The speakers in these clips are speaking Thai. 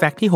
Fact ที่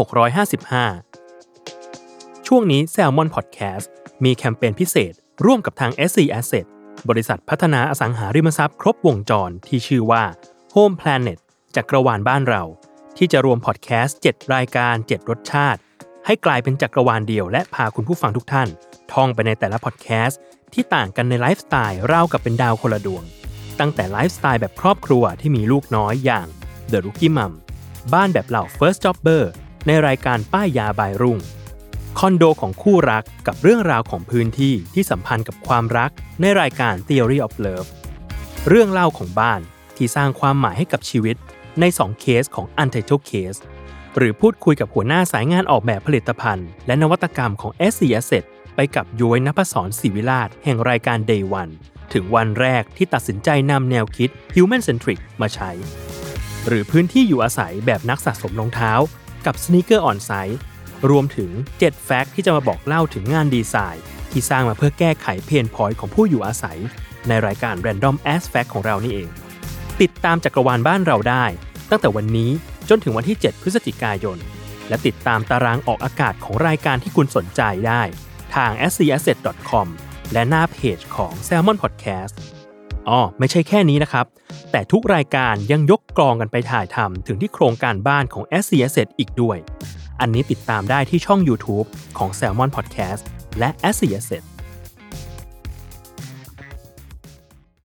655ช่วงนี้ Salmon Podcast มีแคมเปญพิเศษร่วมกับทาง SC Asset บริษัทพัฒนาอสังหาริมทรัพย์ครบวงจรที่ชื่อว่า Home Planet จักรวาลบ้านเราที่จะรวมพอดแคสต์7รายการ7รสชาติให้กลายเป็นจักรวาลเดียวและพาคุณผู้ฟังทุกท่านท่องไปในแต่ละพอดแคสต์ที่ต่างกันในไลฟ์สไตล์ราวกับเป็นดาวคนละดวงตั้งแต่ไลฟ์สไตล์แบบครอบครัวที่มีลูกน้อยอย่าง The Rookie Mom บ้านแบบเหล่า First Jobber ในรายการป้ายยาบายรุ่งคอนโดของคู่รักกับเรื่องราวของพื้นที่ที่สัมพันธ์กับความรักในรายการ Theory of Love เรื่องเล่าของบ้านที่สร้างความหมายให้กับชีวิตใน2เคสของ Untitled Case หรือพูดคุยกับหัวหน้าสายงานออกแบบผลิตภัณฑ์และนวัตกรรมของ SC Asset ไปกับย้อยณภศร ศิวิราชแห่งรายการ Day One ถึงวันแรกที่ตัดสินใจนำแนวคิด Human Centric มาใช้หรือพื้นที่อยู่อาศัยแบบนักสะสมรองเท้ากับ Sneaker On Site รวมถึง7แฟกต์ที่จะมาบอกเล่าถึงงานดีไซน์ที่สร้างมาเพื่อแก้ไขเพนพอยต์ของผู้อยู่อาศัยในรายการ Random As Fact ของเรานี่เองติดตามจักรวาลบ้านเราได้ตั้งแต่วันนี้จนถึงวันที่7พฤศจิกายนและติดตามตารางออกอากาศของรายการที่คุณสนใจได้ทาง scasset.com และหน้าเพจของ Salmon Podcast ไม่ใช่แค่นี้นะครับแต่ทุกรายการยังยกกลองกันไปถ่ายทำถึงที่โครงการบ้านของ SC Asset อีกด้วยอันนี้ติดตามได้ที่ช่อง YouTube ของ Salmon Podcast และ SC Asset